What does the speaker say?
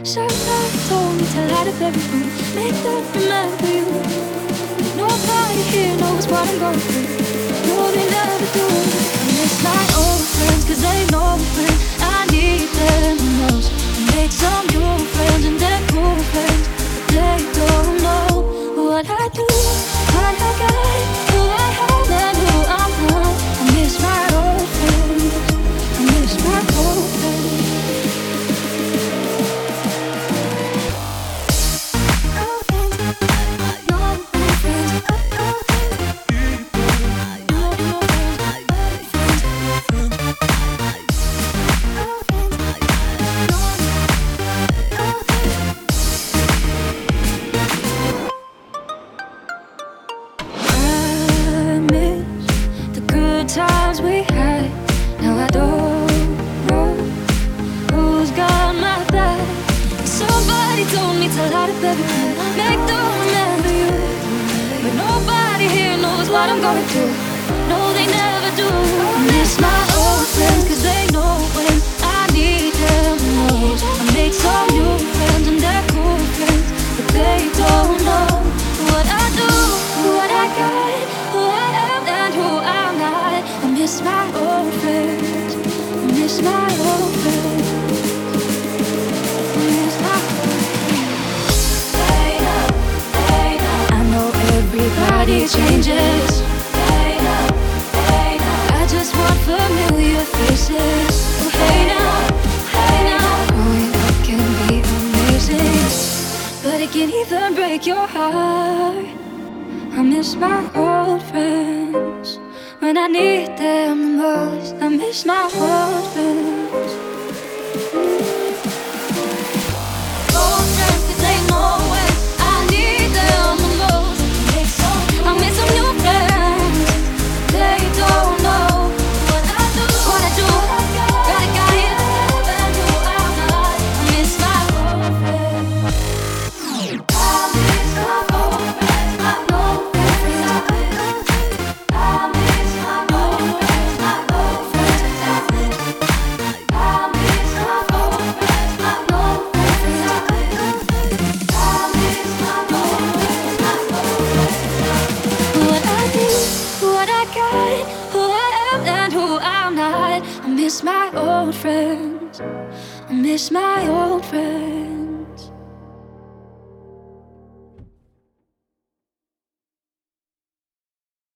Somebody told me to light up every room, make them remember you. Nobody here knows what I'm going through. No, they never do. I miss my old friends, cause they know when I need them the most. I make some new friends and they're cool friends, but they don't know what I do, what I got, who I have and who I'm not. I miss my old friends, I miss my old friends. Times we had, now I don't know who's got my back. Somebody told me to light up everything, make them remember you. But nobody here knows what I'm going through. No, they never do. I miss my old friends, cause they know when I need them the most. I make some new friends and they're cool friends, but they don't know what I do, what I got, who I am and who I'm not. I miss my old friends, I miss my old friends, I miss my old friends. I know everybody changes. I just want familiar faces. Oh, hey now, growing up can be amazing, but it can even break your heart. I miss my old friends when I need them the most. I miss my old friends. Old friends, cause they know when I need them the most. I miss some new friends, they don't know what I do, what I do. Gotta got it, and who I'm not. I miss my old friends. I miss my old friends, my old friends. I miss my old friends, my old friends. I miss my old friends, my old friends. I miss my old friends, my old friends. What I do, what I got, who I am and who I'm not. I miss my old friends, I miss my old friends.